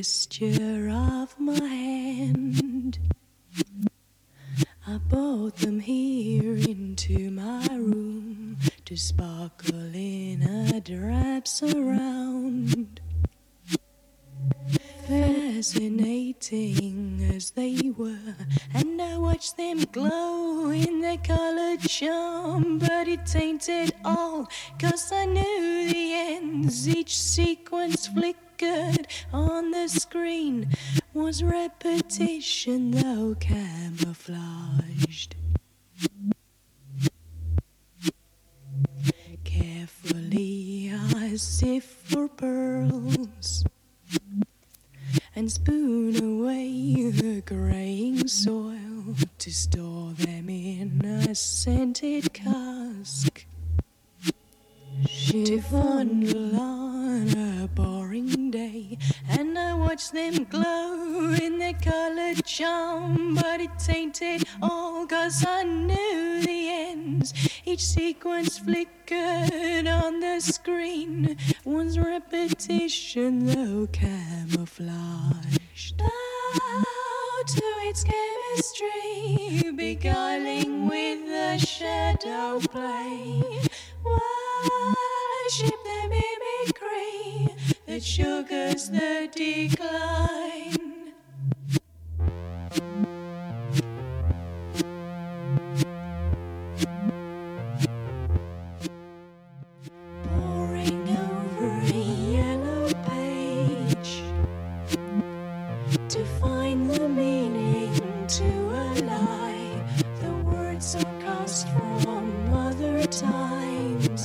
gesture of my hand. I brought them here into my room to sparkle in a drab surround. Fascinating as they were, and I watched them glow in their colored charm. But it tainted all, 'cause I knew the ends. Each sequence flickered on the screen was repetition, though camouflaged. Carefully I sift for pearls and spoon away the graying soil to store them in a scented cask. To fondle on a boring day, and I watched them glow in their colored charm. But it tainted all, 'cause I knew the ends. Each sequence flickered on the screen was repetition, though camouflaged. Bow to its chemistry, beguiling with the shadow play. Worship the mimicry that sugars the decline. Poring over a yellow page to find the meaning to a lie. The words are cast from other times.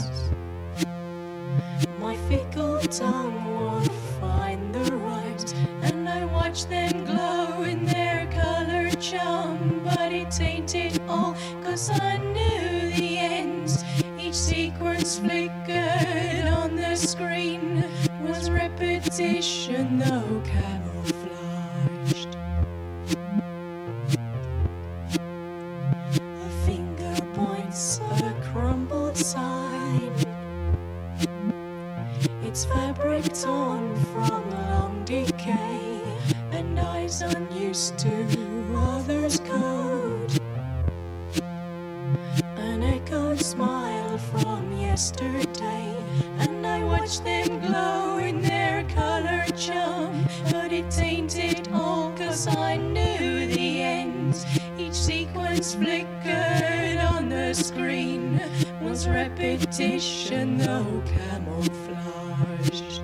My fickle tongue won't find the rhymes, and I watch them glow in their colored charm. But it tainted all, 'cause I knew the ends. Each sequence flickered on the screen was repetition, though camouflaged. A finger points a crumbled sign, its fabric torn from long decay, and eyes unused to others' code. An echoed smile from yesterday, and I watched them glow in their colored charm. But it tainted all, 'cause I knew the ends. Each sequence flickered on the screen was repetition, though camouflaged.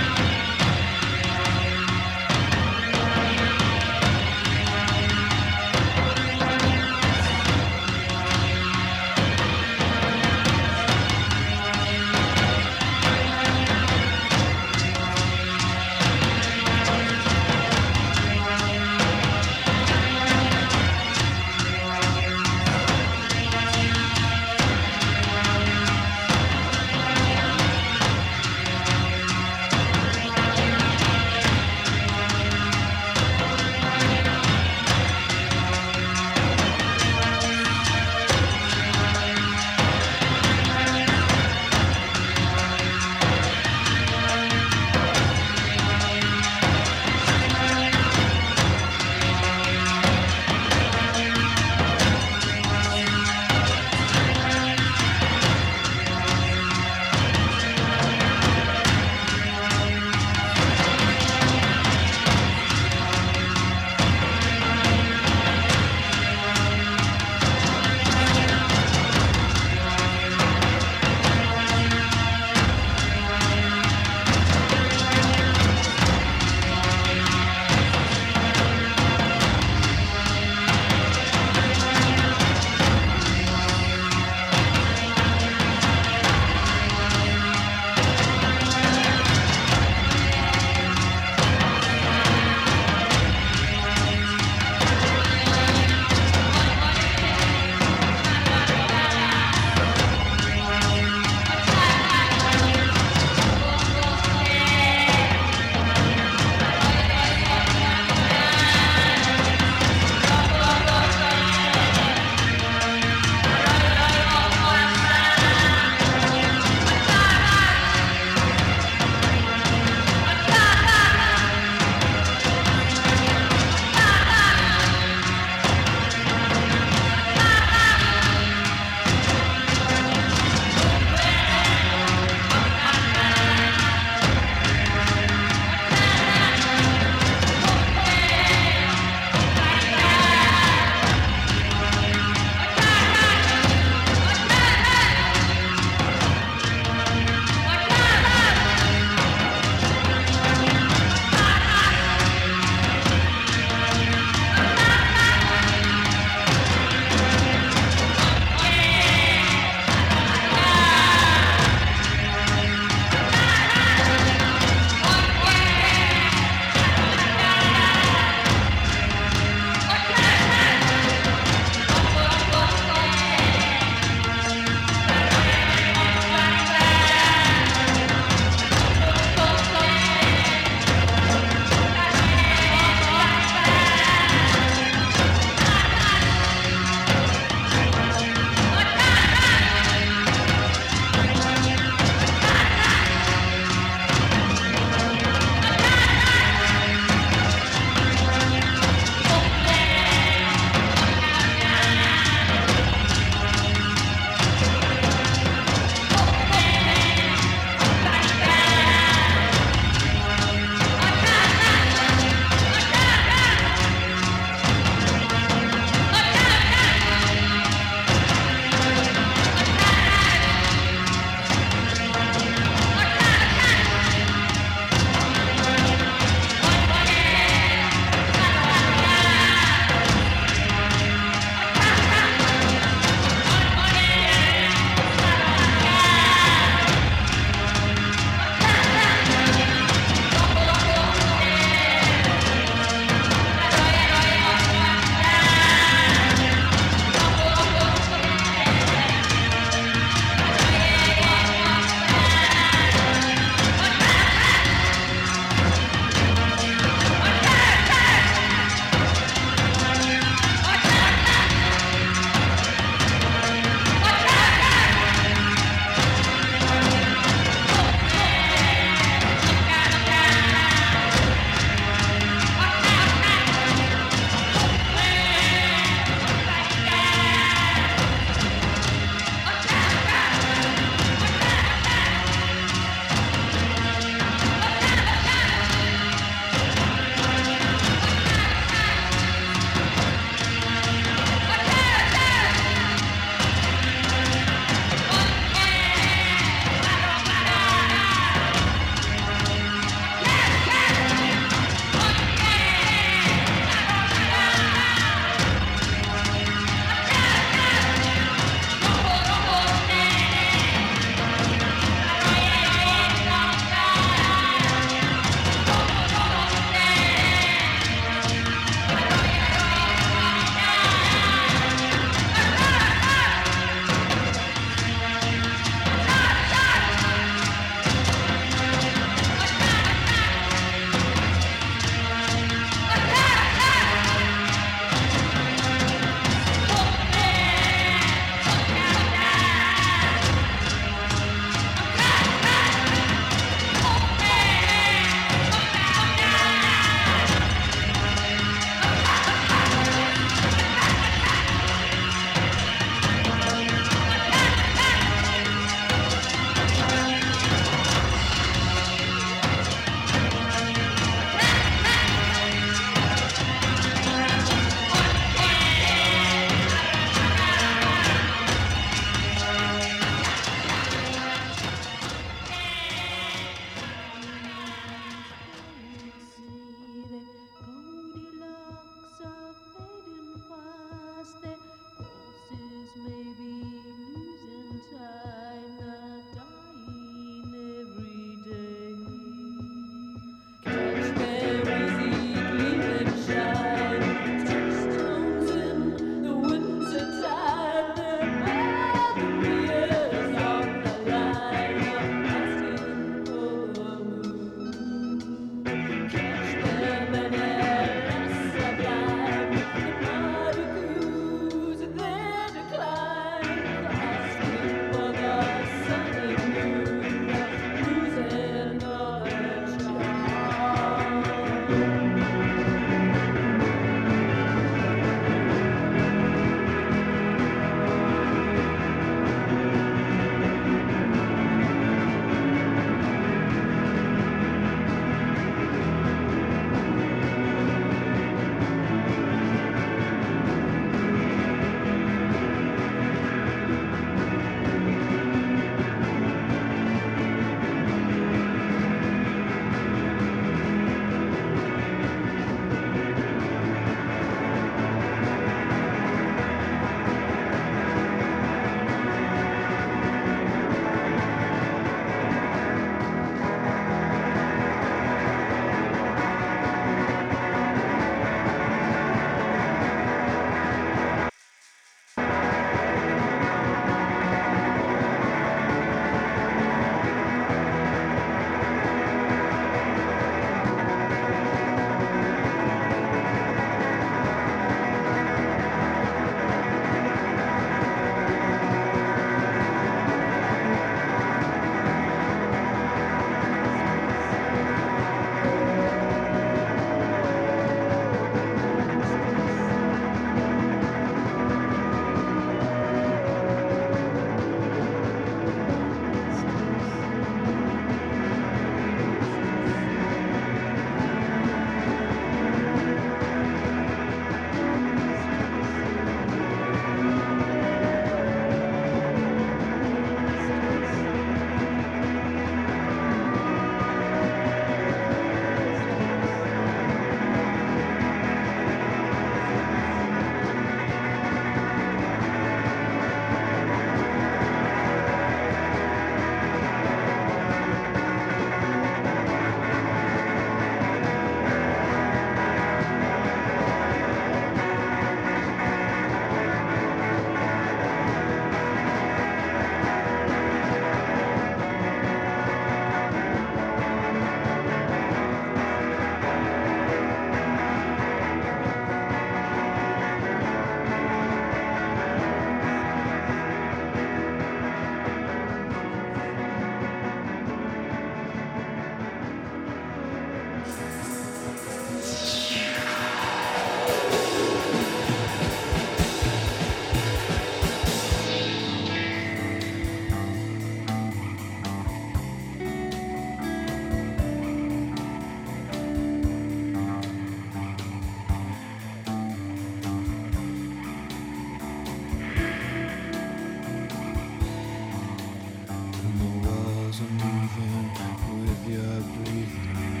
you're breathing.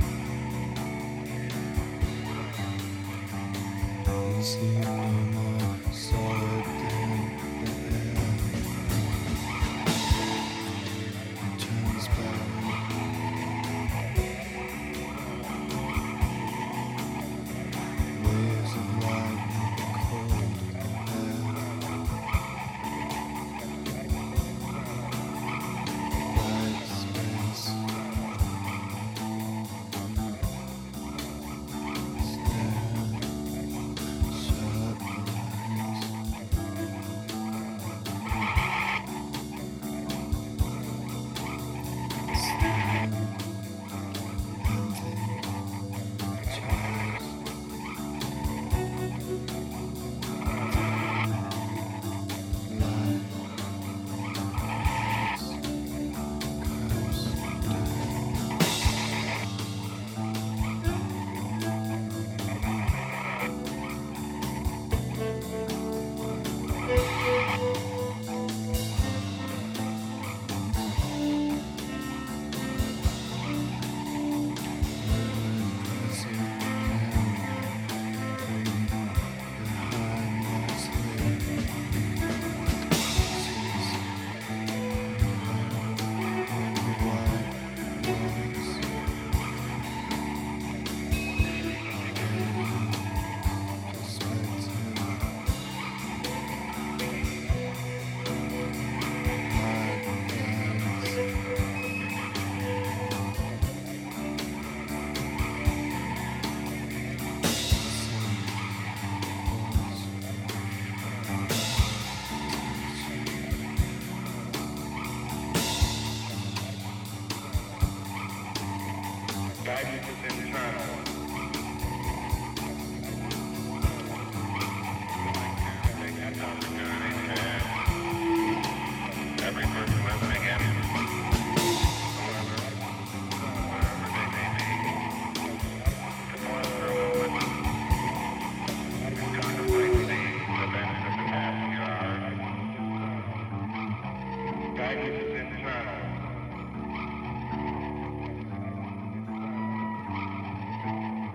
You seem no more solid than the air. Transparent. Waves of light, cold air. Bright space. Stare. Sharp lines. Stand and think. Chairs. Light. Curves. Guidance is internal. Take that opportunity to ask every person listening in, whoever, wherever they may be, to pause for a moment and contemplate the events of the past few hours. Guidance is internal.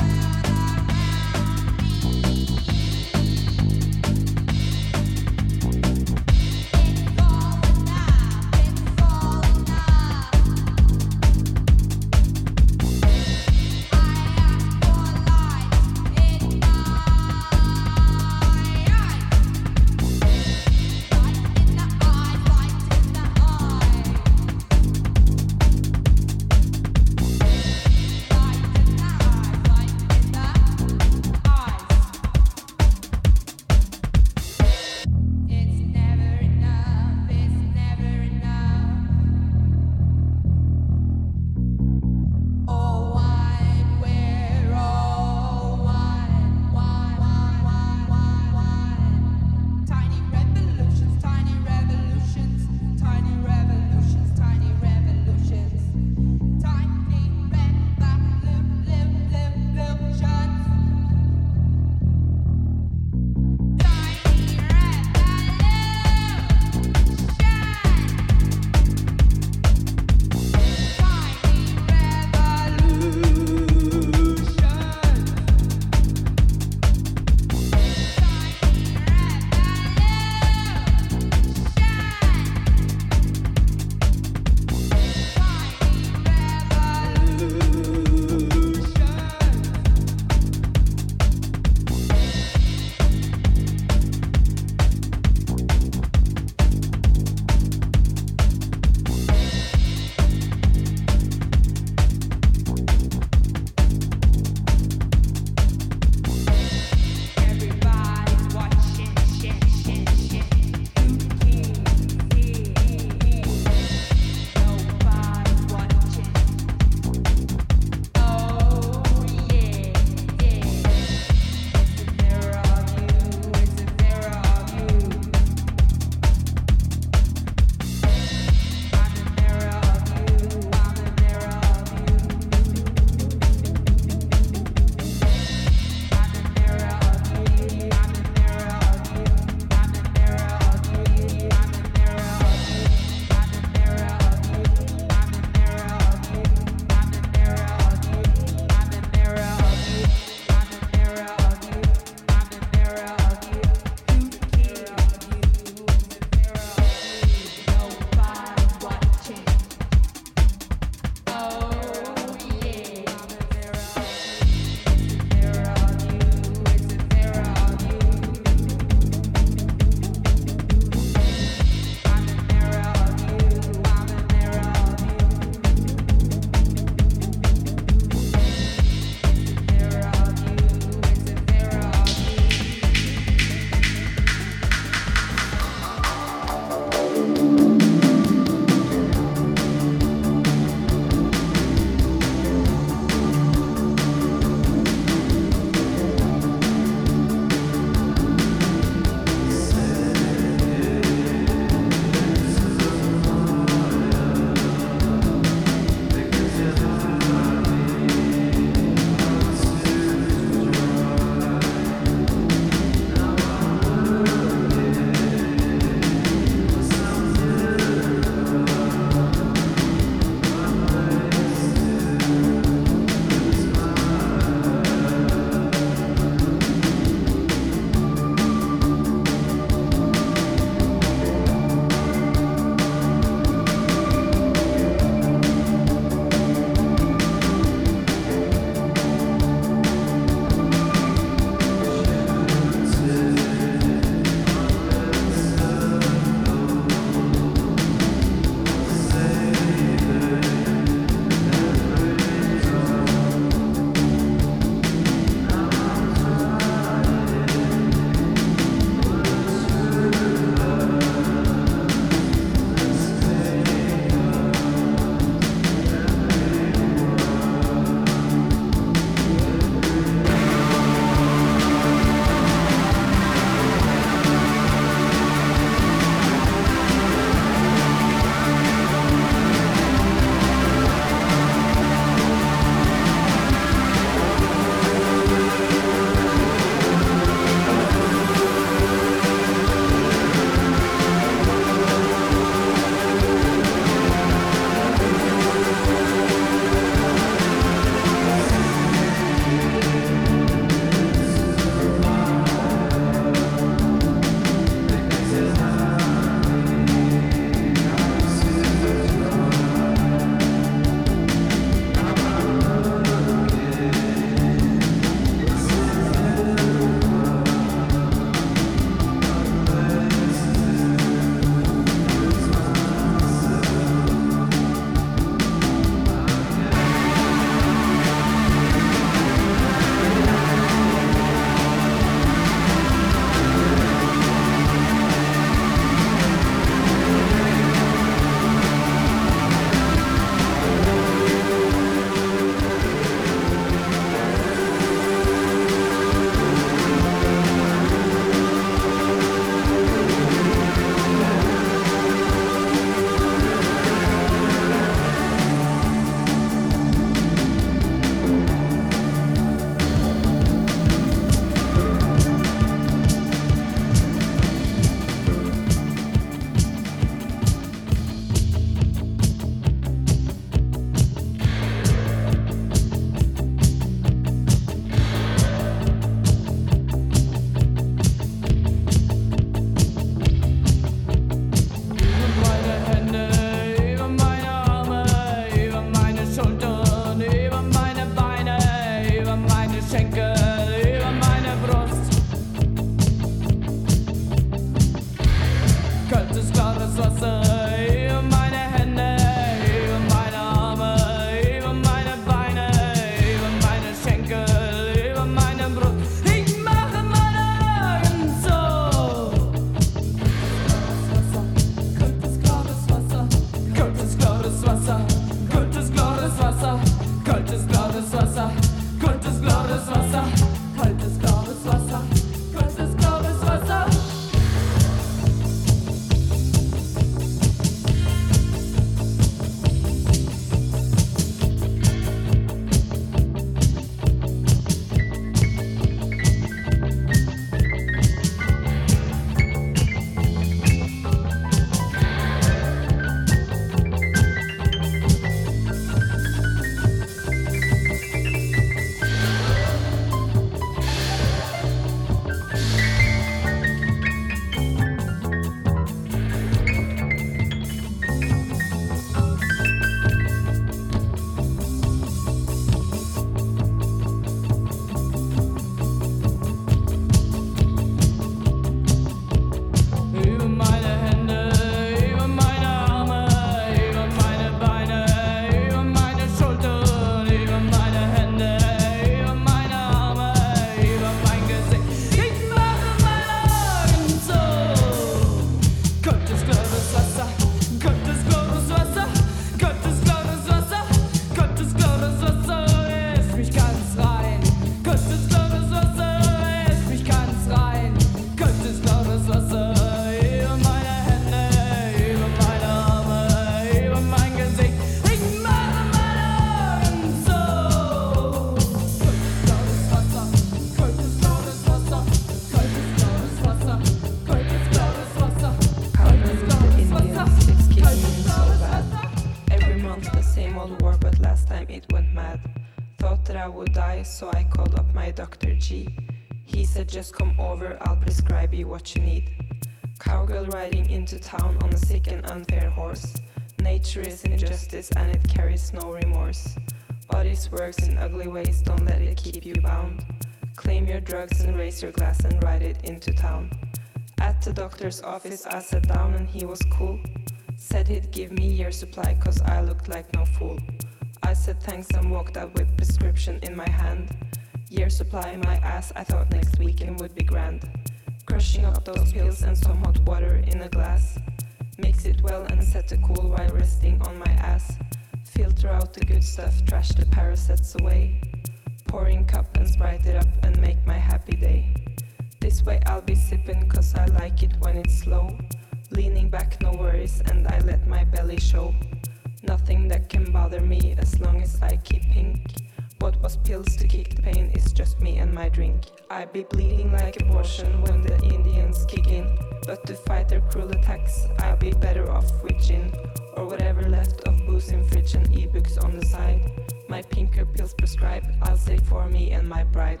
Thought that I would die, so I called up my Dr. G. He said just come over, I'll prescribe you what you need. Cowgirl riding into town on a sick and unfair horse. Nature is injustice and it carries no remorse. Bodies works in ugly ways, don't let it keep you bound. Claim your drugs and raise your glass and ride it into town. At the doctor's office I sat down and he was cool. Said he'd give me year supply cause I looked like no fool. I said thanks and walked out with prescription in my hand. Year supply in my ass, I thought next weekend would be grand. Crushing up those pills and some hot water in a glass. Mix it well and set to cool while resting on my ass. Filter out the good stuff, trash the parasites away. Pouring cup and sprite it up and make my happy day. This way I'll be sipping cause I like it when it's slow. Leaning back, no worries, and I let my belly show. Nothing that can bother me as long as I keep pink. What was pills to kick the pain is just me and my drink. I be bleeding like abortion when the Indians kick in. But to fight their cruel attacks, I'll be better off with gin. Or whatever left of booze in fridge and e-books on the side. My pinker pills prescribed, I'll say for me and my bride.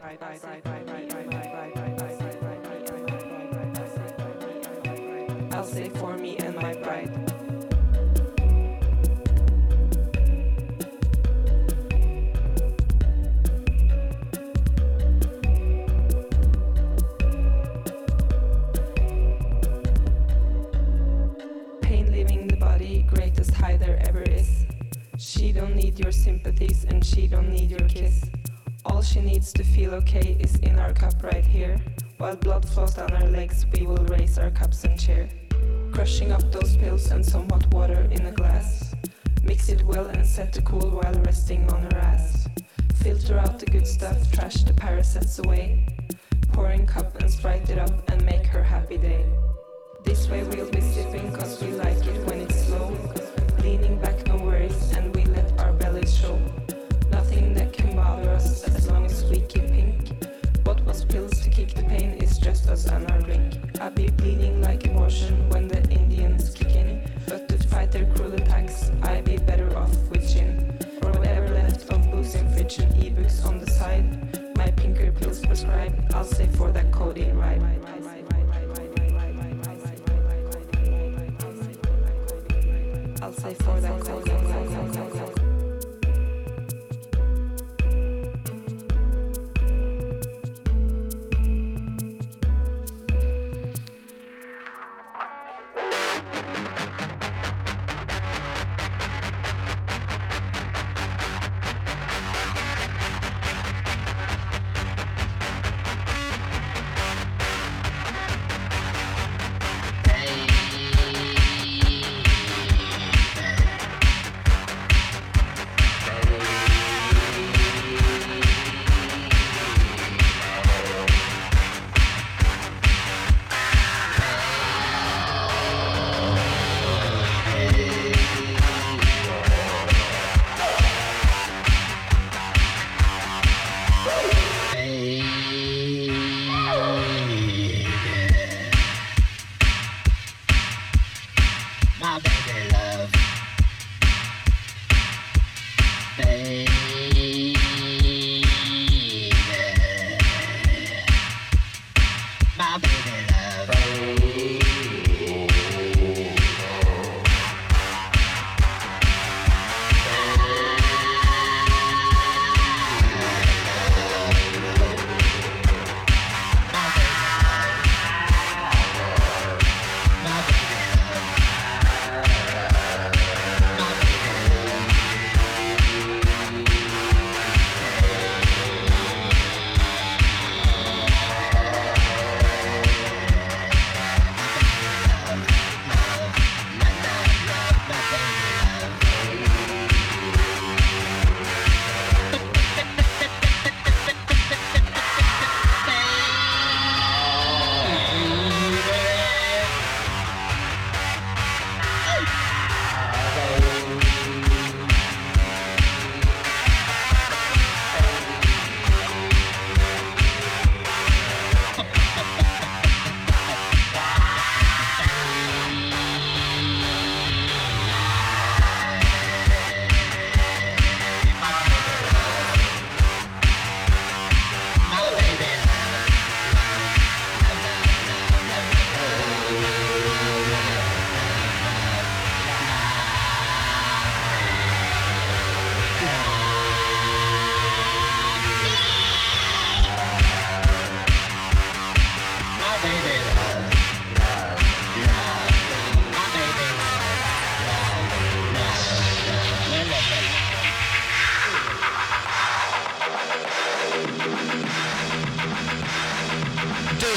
I'll say for me and my bride. Pain leaving the body, greatest high there ever is. She don't need your sympathies and she don't need your kiss. All she needs to feel okay is in our cup right here. While blood flows down our legs, we will raise our cups and cheer. Crushing up those pills and some hot water in a glass. Mix it well and set to cool while resting on her ass. Filter out the good stuff, trash the parasites away. Pouring cup and sprite it up and make her happy day. This way we'll be sipping cause we like it when it's slow. Leaning back, no worries, and we let our bellies show. Nothing that can bother us as long as we keep pink. What was pills to kick the pain is just us and our drink. I be bleeding like abortion when the Indians kick in. But to fight their cruel attacks, I be better off with gin. Or whatever left of booze in fridge and e-books on the side. My pinker pills prescribed, I'll say for that codeine ride. I'll say for that codeine ride.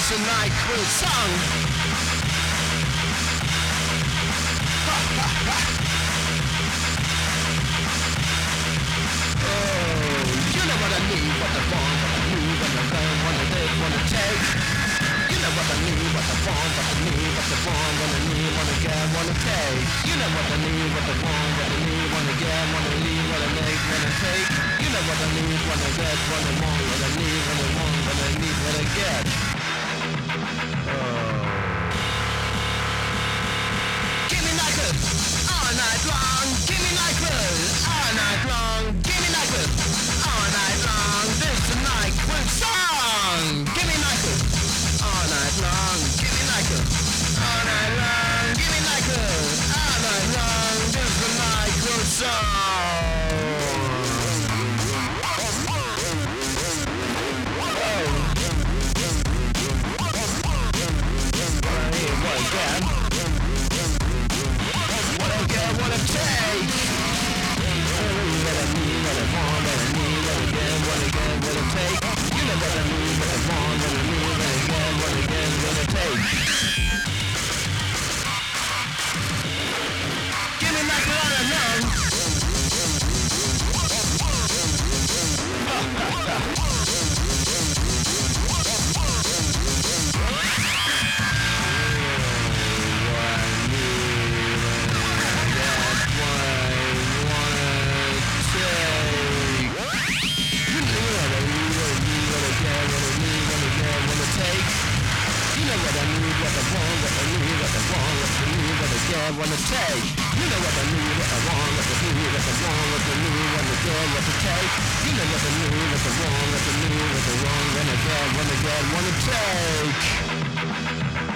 This is a night cool song. You know what I need, what I want, what I need, what I want, what I need, what I take. You know what I need, what I want, what I need, what I want, what I need, what I get, what I take. You know what I need, what I want, what I need, what I get, what I need, what I make, what I take. You know what I need, what I get, what I want, what I need, what I want, what I need, what I get. Give me like it all night long. Give me like it all night long. Give me like it all night long. This is a night quick song. Give me like it all night long. Give me like it all night long. Give me like it all night long. This is a night quick song. What again? What I get, what I take. What I need, what I want, what I need, what I get, what I get, what I take. You know what I need, what I want, what I need, what I get, what I get, what I take. Give me like all I know. What I take. You know what I need, what I want, what I need, what I want, what I need, what I get, what I take. You know what I need, what I want, what I need, what I want, what I get, what I get, what I take.